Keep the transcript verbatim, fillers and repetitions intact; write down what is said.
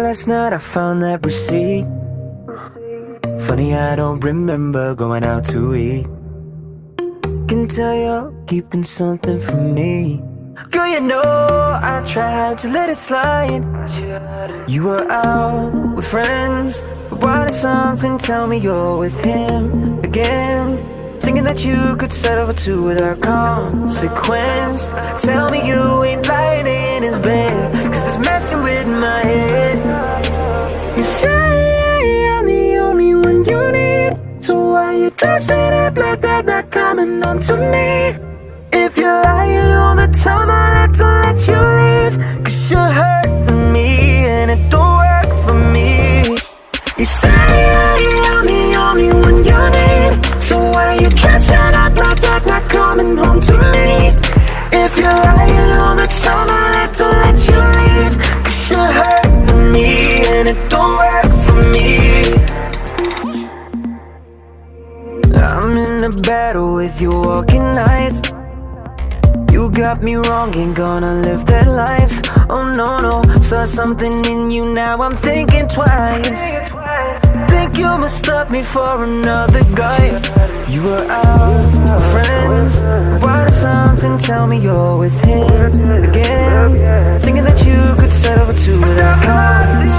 last night I found that receipt. Funny I don't remember going out to eat. Can tell you're keeping something from me. Girl, you know I tried to let it slide. You were out with friends, but why did something tell me you're with him again? Thinking that you could start over two without consequence. Tell me you ain't lying in his bed, cause this messing with my head. You say I'm the only one you need, so why you dressing up like that, not coming home to me? If you're lying all the time, I'll have to let you leave, cause you're hurting me and it don't work for me. You say I'm the only one you need, so why you dressing up like that, not coming home to me? If you're lying all the time, I'll have to let you leave, cause you're hurting me and it don't work for me. I'm in a battle with your walking eyes. You got me wrong, ain't gonna live that life. Oh no, no, saw something in you, now I'm thinking twice. Think you mistook me for another guy. You were out with friends, why does something tell me you're with him again? Thinking that you could start over two without